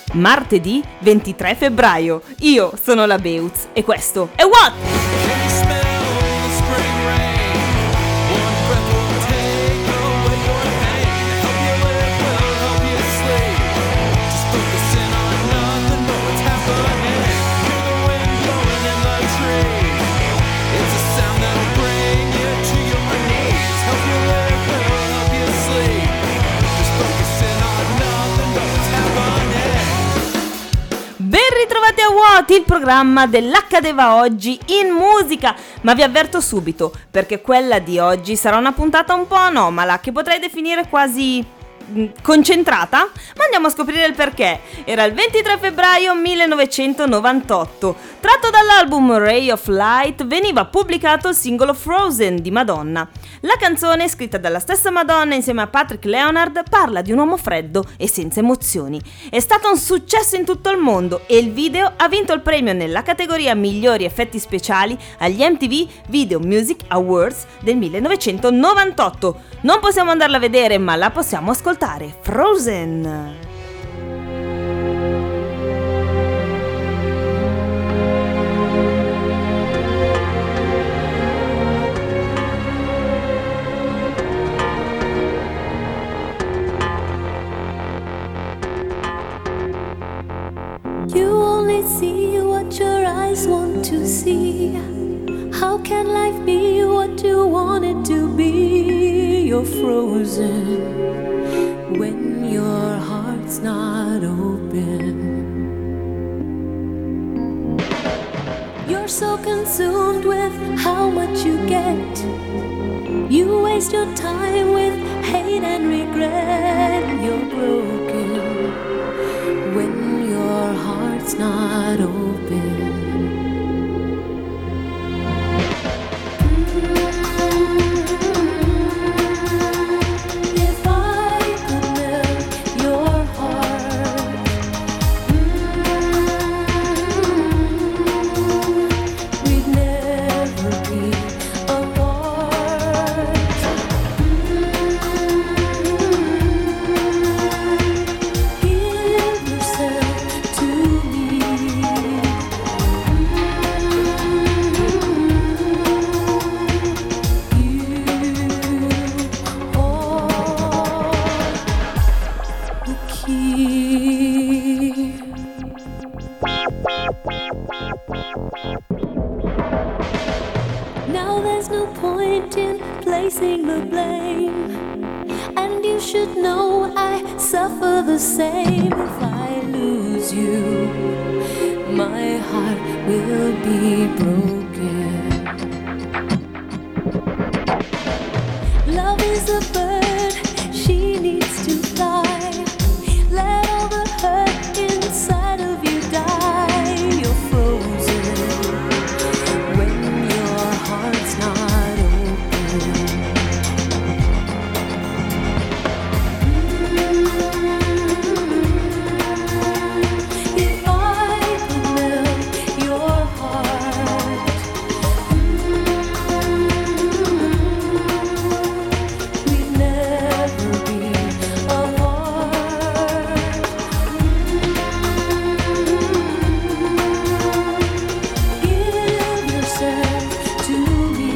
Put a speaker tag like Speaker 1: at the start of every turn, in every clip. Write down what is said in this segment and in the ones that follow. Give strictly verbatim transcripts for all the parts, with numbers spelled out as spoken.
Speaker 1: martedì ventitré febbraio. Io sono la Beutz e questo è What? Ritrovati a What, il programma dell'Accadeva oggi in musica, ma vi avverto subito perché quella di oggi sarà una puntata un po' anomala che potrei definire quasi concentrata, ma andiamo a scoprire il perché. Era il ventitré febbraio millenovecentonovantotto. Tratto dall'album Ray of Light veniva pubblicato il singolo Frozen di Madonna. La canzone, scritta dalla stessa Madonna insieme a Patrick Leonard, parla di un uomo freddo e senza emozioni. È stato un successo in tutto il mondo e il video ha vinto il premio nella categoria migliori effetti speciali agli M T V Video Music Awards del millenovecentonovantotto. Non possiamo andarla a vedere, ma la possiamo ascoltare. Frozen.
Speaker 2: You only see what your eyes want to see. How can life be what you want it to be? You're frozen when your heart's not open. You're so consumed with how much you get. You waste your time with hate and regret. You're broken when your heart's not open. Now there's no point in placing the blame, and you should know I suffer the same. If I lose you, my heart will be broken. Love is a bird, she needs to fly. Let all the hurt inside of you die. You're frozen when your heart's not open. If I could melt your heart, we'd never be apart. Give yourself to me.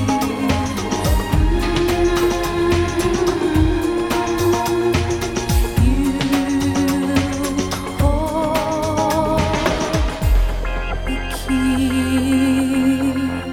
Speaker 2: You hold the key.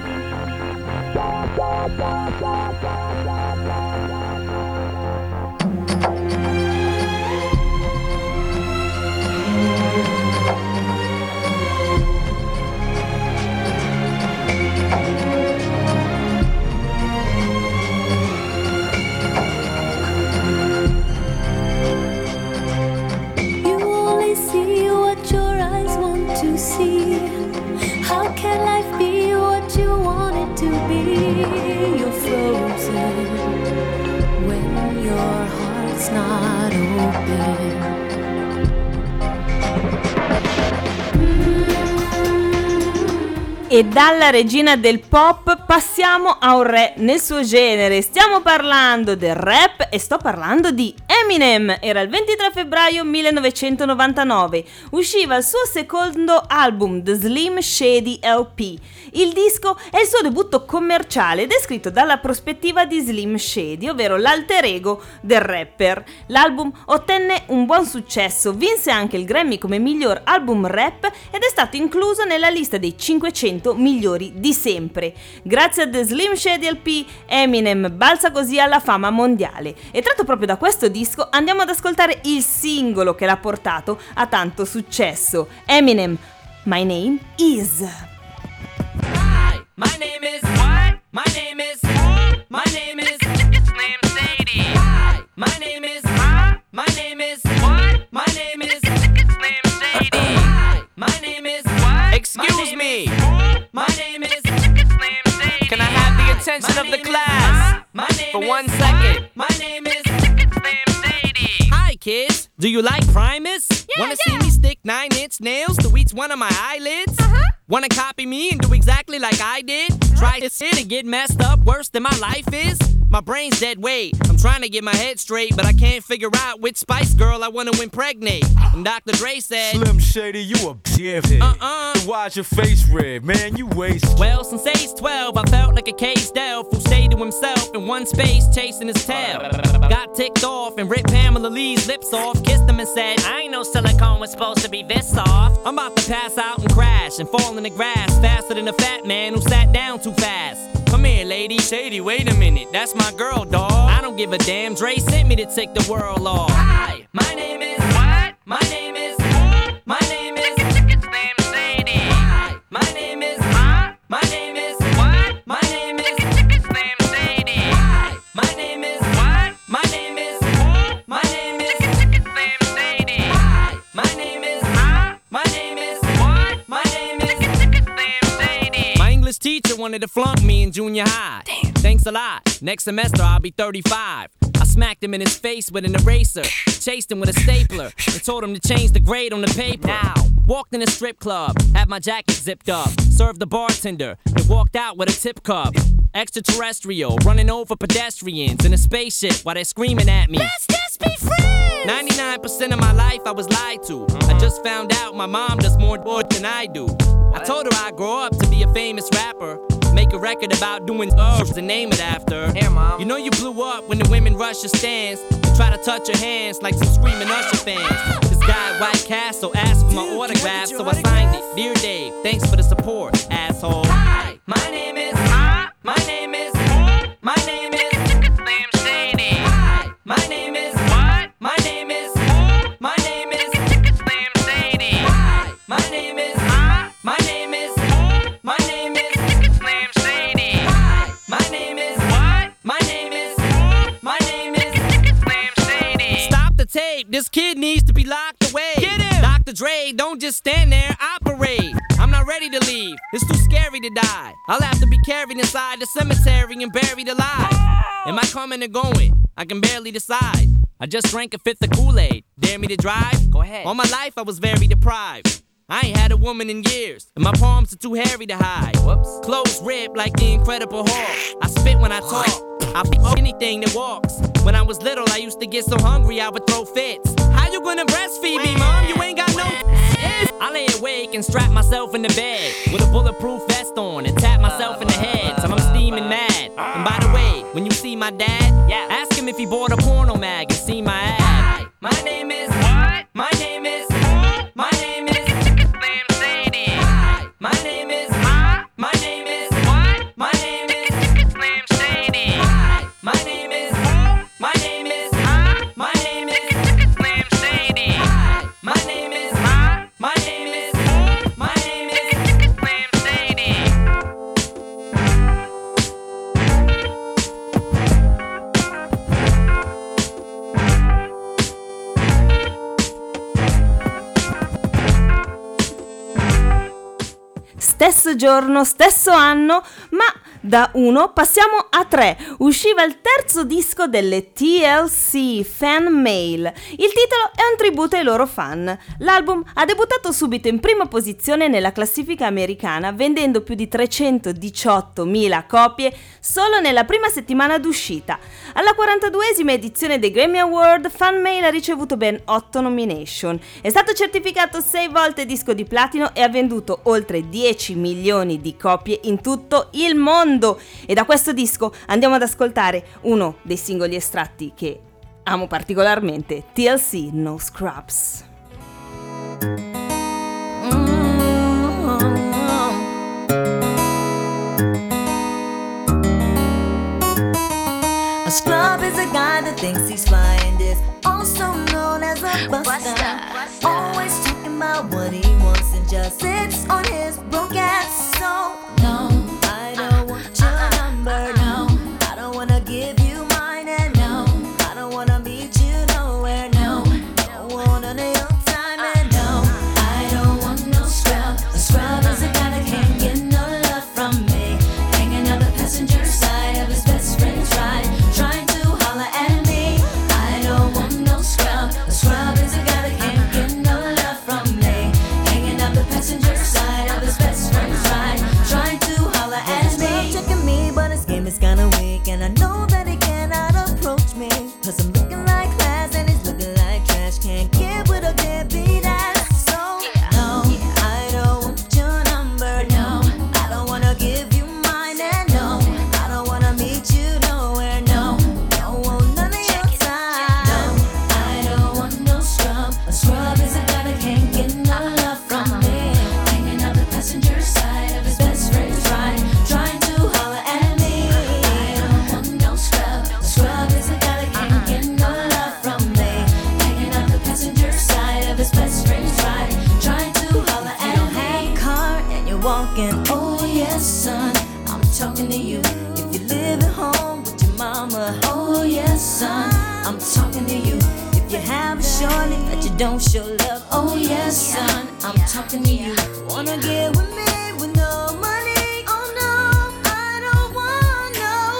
Speaker 2: You only see what your eyes want to see. How can life be what you want it to be? You're frozen when your heart's not open.
Speaker 1: E dalla regina del pop passiamo a un re nel suo genere. Stiamo parlando del rap e sto parlando di Eminem, era il ventitré febbraio millenovecentonovantanove, usciva il suo secondo album, The Slim Shady L P. Il disco è il suo debutto commerciale ed è scritto dalla prospettiva di Slim Shady, ovvero l'alter ego del rapper. L'album ottenne un buon successo, vinse anche il Grammy come miglior album rap ed è stato incluso nella lista dei cinquecento migliori di sempre. Grazie a The Slim Shady L P, Eminem balza così alla fama mondiale. E tratto proprio da questo disco andiamo ad ascoltare il singolo che l'ha portato a tanto successo. Eminem, My Name Is.
Speaker 3: Hi, my name is what? My name is my name is Slim Shady. Hi, my name is my name is what? My name is Slim Shady. Hi, my name is what? Excuse me. My name is Slim Shady. Can I have the attention of the class for one second? My name is Slim Shady. Hi kids, do you like Primus? Yeah, Wanna yeah. see me stick nine inch nails to each one of my eyelids? Uh-huh. Wanna copy me and do exactly like I did? Try to sit and get messed up worse than my life is? My brain's dead weight. I'm trying to get my head straight, but I can't figure out which Spice Girl I wanna impregnate. And Doctor Dre said,
Speaker 4: Slim Shady, you a dickhead.
Speaker 3: Uh-uh.
Speaker 4: Why's your face red, man? You waste.
Speaker 3: Well, since age twelve, I felt like a caged elf who stayed to himself in one space chasing his tail. Got ticked off and ripped Pamela Lee's lips off, kissed him and said, I ain't know silicone was supposed to be this soft. I'm about to pass out and crash and fall in the grass faster than a fat man who sat down too fast. Come here, lady. Shady, wait a minute. That's my girl, dawg. I don't give a damn. Dre sent me to take the world off. Hi, my name is what? My name is my name is Slim Shady. Hi, my name is my name is what? My name is Slim Shady. Hi, my name is what? My name is my name is Slim Shady. Hi, my name is my name is what? My name is Slim Shady. My English teacher wanted to flunk me in junior high. Damn. Thanks a lot. Next semester I'll be thirty-five. I smacked him in his face with an eraser, chased him with a stapler, and told him to change the grade on the paper. Now, walked in a strip club, had my jacket zipped up, served the bartender, and walked out with a tip cup. Extraterrestrial, running over pedestrians in a spaceship while they're screaming at me. Let's just be friends! ninety-nine percent of my life I was lied to. I just found out my mom does more good than I do. I told her I'd grow up to be a famous rapper, make a record about doing herbs and name it after. Here, Mom. You know you blew up when the women rush your stands and try to touch your hands like some screaming Usher fans. This guy at White Castle asked for my Dude, autograph, so I signed it. Dear Dave, thanks for the support, asshole. Hi, my name is my name is my name is Slim Shady. Hi, my name is what? My name is my name is Slim Shady. Hi, my name is my name is my name is Slim Shady. Hi, my name is what? My name is my name is Slim Shady. Stop the tape. This kid needs to be locked away. Get him. Doctor Dre, don't just stand there, operate. I'm not ready to leave. It's too scary to die. I'll have to be carried inside the cemetery and buried alive. Am I coming or going? I can barely decide. I just drank a fifth of Kool-Aid. Dare me to drive? Go ahead. All my life I was very deprived. I ain't had a woman in years, and my palms are too hairy to hide. Whoops. Clothes ripped like the Incredible Hulk. I spit when I talk. I f*** anything that walks. When I was little, I used to get so hungry I would throw fits. How you gonna breastfeed me, Mom? You ain't got no I lay awake and strap myself in the bed with a bulletproof vest on and tap myself in the head till I'm steaming mad. And by the way, when you see my dad, yeah, ask him if he bought a porno mag and see my ad. Hi, my name is what? My name is my name is Slim Shady. Hi, my name is my name is what? My name is Slim Shady. Hi, my name is my name is my name is Slim Shady. Hi, my name is my name is my name is Slim Shady.
Speaker 1: Stesso giorno, stesso anno, ma Da uno passiamo a tre. Usciva il terzo disco delle T L C, Fan Mail. Il titolo è un tributo ai loro fan. L'album ha debuttato subito in prima posizione nella classifica americana, vendendo più di trecentodiciottomila copie solo nella prima settimana d'uscita. Alla quarantaduesima edizione dei Grammy Award, Fan Mail ha ricevuto ben otto nomination. È stato certificato sei volte disco di platino e ha venduto oltre dieci milioni di copie in tutto il mondo. E da questo disco andiamo ad ascoltare uno dei singoli estratti che amo particolarmente, T L C No Scrubs.
Speaker 5: A scrub is a guy that thinks he's fly and is also known as a buster. Always talking about what he wants and just sits on his broke ass. So no, I don't want your number. No, I don't wanna give you mine. And no, I don't wanna meet you nowhere. No, don't want none of your time. And no, I don't want no scrub. A scrub is a guy that can't get no love from me, hanging on the passenger side of his best friend's ride, trying to holler at me. I don't want no scrub. A scrub is a guy that can't get no love from me, hanging on the passenger side of his best friend's ride, trying to holler at me. Checking me, but his game is kinda weak, and I know that he cannot approach me, cause I'm looking like class and he's looking like trash. Can't get with a deadbeat ass. So no, I don't want your number. No, I don't wanna give you mine. And no, I don't wanna meet you nowhere. No, don't want none of your time. No, I don't want no scrub. A scrub is a guy that can't get no love from me, hanging out the passenger side of his best friend's ride, trying to holler at me. I don't want no scrub. A scrub is a guy that can't get no love from me, hanging out the passenger side of his best friend's ride, trying to holler at me. You don't have a car and you're walking. Oh yes, son, I'm talking to you. If you live at home with your mama. Oh yes, son, I'm talking to you. If you have a shorty that you don't show love. Oh yes, son, I'm talking to you. Wanna get with me with no money? Oh no, I don't want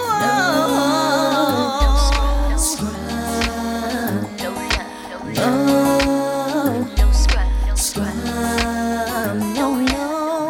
Speaker 5: no, no scrub. No, no scrub. Scrub. No, no.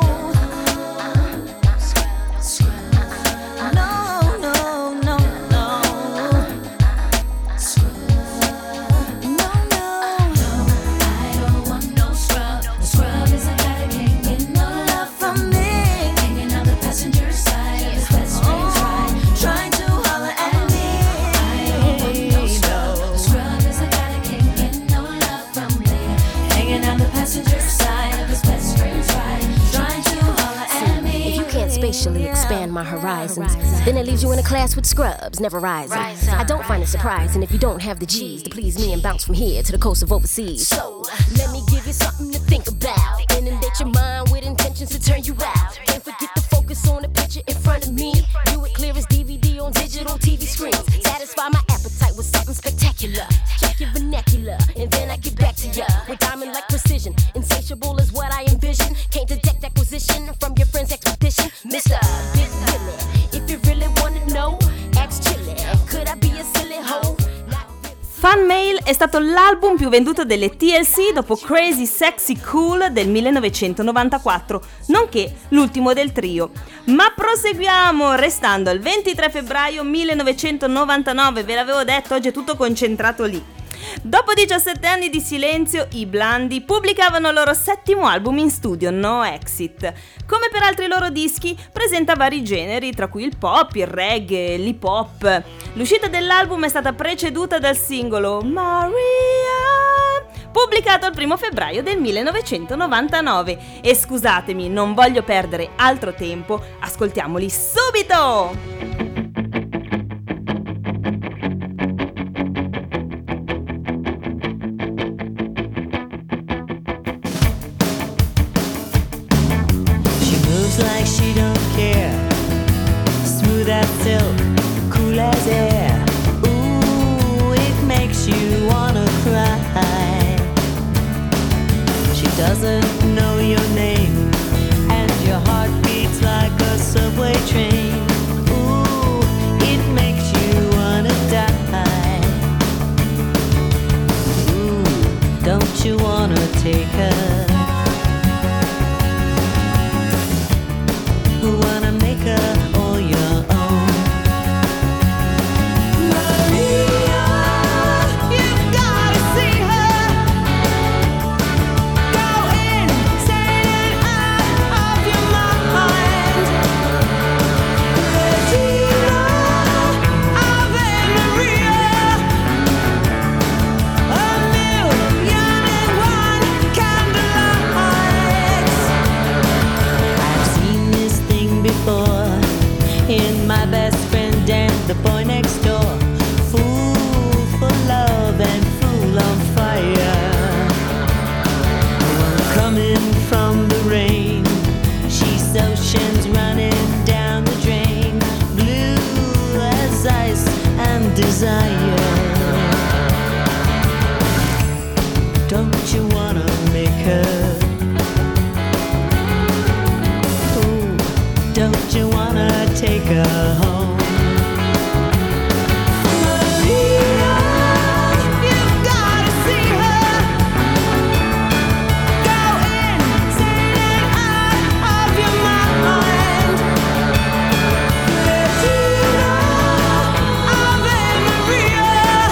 Speaker 5: Scrub. No, no, no, no. Scrub. No, no. I don't want no scrub. A scrub is a guy that can't get no love from me, hanging on the passenger side of his best friend's ride, trying to holler at me. I don't want no scrub. A scrub is a guy that can't get no love from me, hanging on the passenger side of his best friend's ride, trying to holler at me.
Speaker 6: If you can't spatially expand my horizons, then it leaves you in a class with scrubs, never rising. I don't find it surprising if you don't have the G's to please me and bounce from here to the coast of overseas. So, let me give you something to think about. Inundate your mind with intentions to turn you out. Can't forget to focus on the picture in front of me. Do it clear as D V D on digital T V screens. Satisfy my appetite with something spectacular. Check your vernacular, and then I get back to ya with diamond-like precision. Insatiable is what I envision. Can't detect acquisition from your friend's expedition. Mister Big Willie, if you really wanna know, ask Chili. Could I be a silly hoe?
Speaker 1: Fan Mail è stato l'album più venduto delle T L C dopo Crazy Sexy Cool del millenovecentonovantaquattro, nonché l'ultimo del trio. Ma proseguiamo restando al ventitré febbraio millenovecentonovantanove, ve l'avevo detto, oggi è tutto concentrato lì. Dopo diciassette anni di silenzio, i Blondie pubblicavano il loro settimo album in studio, No Exit. Come per altri loro dischi, presenta vari generi, tra cui il pop, il reggae, l'hip hop. L'uscita dell'album è stata preceduta dal singolo Maria, pubblicato il primo febbraio del millenovecentonovantanove. E scusatemi, non voglio perdere altro tempo, ascoltiamoli subito!
Speaker 5: Like she don't care, smooth as silk, cool as air. Ooh, it makes you wanna cry. She doesn't know your name, and your heart beats like a subway train. Don't you wanna take her? Wanna make her all your own? Maria, you've gotta see her. Go insane and out of your mind. Regina, Ave Maria, a million and one candlelights. I've seen this thing before in my best friend and the boy next door. Fool for love and fool on fire. One coming from the rain, she's oceans running down the drain, blue as ice and desire. Don't you wanna make her? Ooh, don't you wanna take her home? Maria, you've gotta see her. Go insane and out of your mind. Regina, Ave Maria,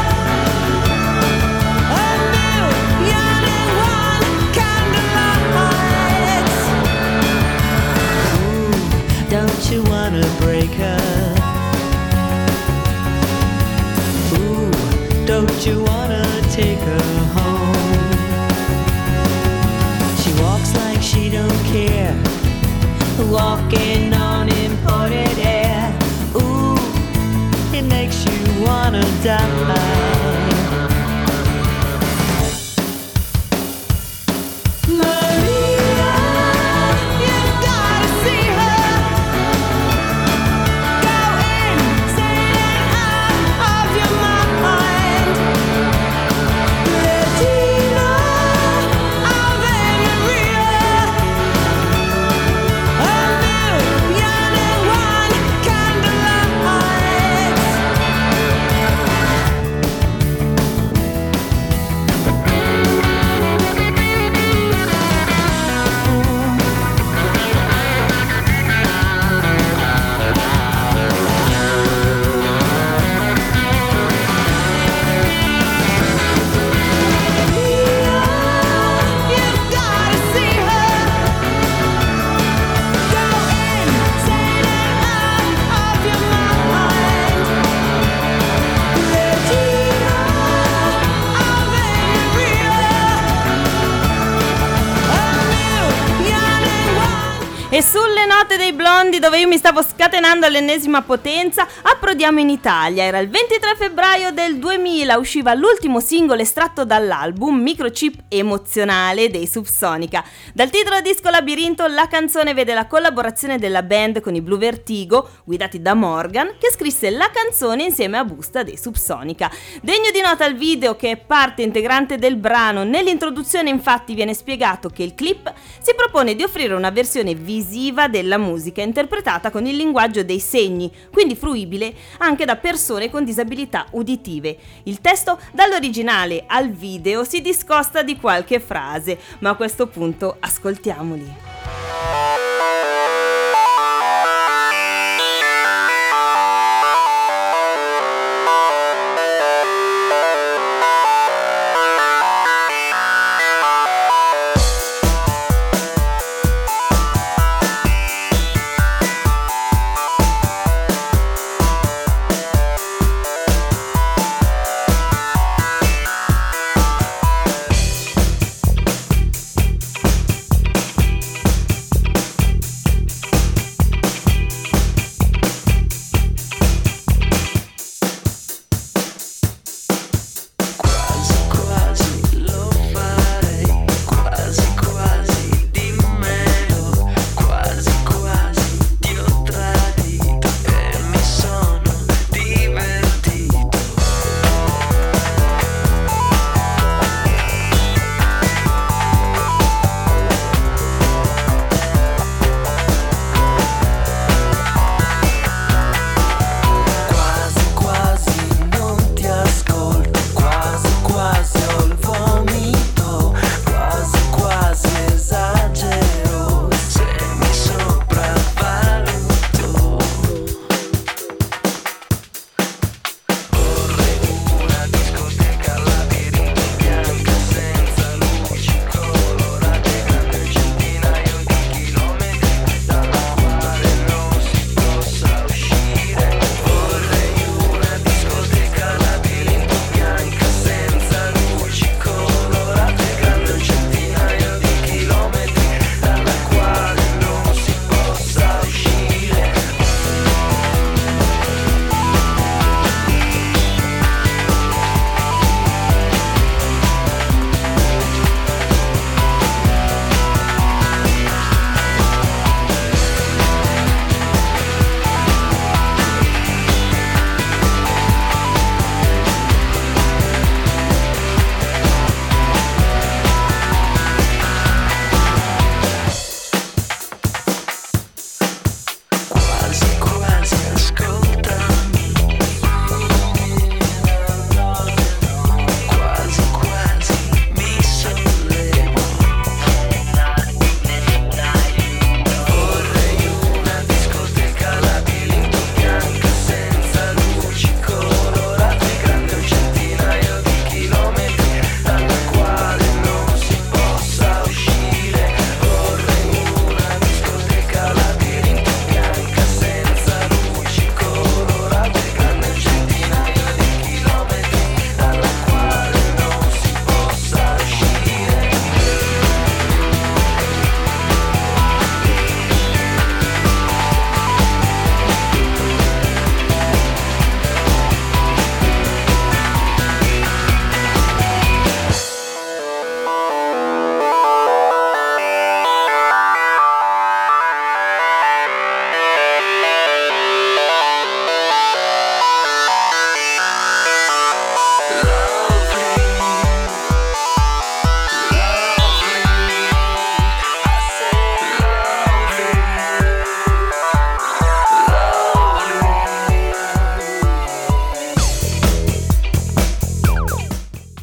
Speaker 5: a million and one candlelights. Ooh, don't you wanna break her? Ooh, don't you wanna take her home? She walks like she don't care, walking on imported air. Ooh, it makes you wanna die. Maria, you've gotta see her. Go insane and out of your mind. Regina, Ave Maria, a million and one candlelights. You've gotta see her. Go insane and out of your mind. Regina, Ave Maria, a million and one.
Speaker 1: E sulle note dei Blondi, dove io mi stavo scatenando all'ennesima potenza, approdiamo in Italia. Era il ventitré febbraio del duemila, usciva l'ultimo singolo estratto dall'album Microchip Emozionale dei Subsonica. Dal titolo disco Labirinto, la canzone vede la collaborazione della band con i Blue Vertigo, guidati da Morgan, che scrisse la canzone insieme a Busta dei Subsonica. Degno di nota il video, che è parte integrante del brano. Nell'introduzione infatti viene spiegato che il clip si propone di offrire una versione visiva della musica interpretata con il linguaggio dei segni, quindi fruibile anche da persone con disabilità uditive. Il testo dall'originale al video si discosta di qualche frase, ma a questo punto ascoltiamoli.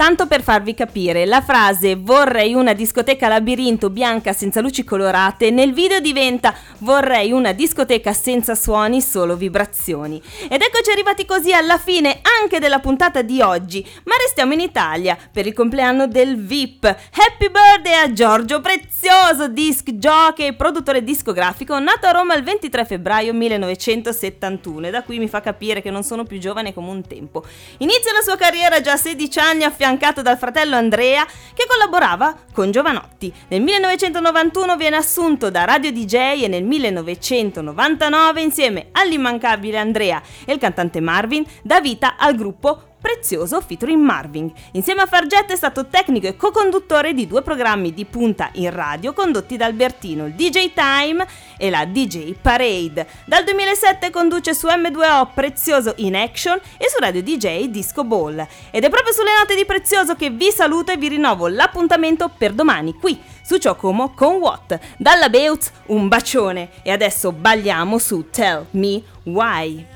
Speaker 1: tanto per farvi capire, la frase vorrei una discoteca labirinto bianca senza luci colorate nel video diventa vorrei una discoteca senza suoni, solo vibrazioni. Ed eccoci arrivati così alla fine anche della puntata di oggi, ma restiamo in Italia per il compleanno del V I P. Happy birthday a Giorgio Prezioso, disc jockey e produttore discografico, nato a Roma il ventitré febbraio millenovecentosettantuno, e da qui mi fa capire che non sono più giovane come un tempo. Inizia la sua carriera già a sedici anni affiancato dal fratello Andrea, che collaborava con Giovanotti. Nel millenovecentonovantuno viene assunto da radio D J e nel millenovecentonovantanove, insieme all'immancabile Andrea e il cantante Marvin, dà vita al gruppo Prezioso featuring Marvin. Insieme a Fargetta è stato tecnico e co-conduttore di due programmi di punta in radio condotti da Albertino, il D J Time e la D J Parade. Dal duemilasette conduce su emme due o Prezioso in Action e su Radio D J Disco Ball. Ed è proprio sulle note di Prezioso che vi saluto e vi rinnovo l'appuntamento per domani qui su Ciocomo con What. Dalla Beutz un bacione e adesso balliamo su Tell Me Why.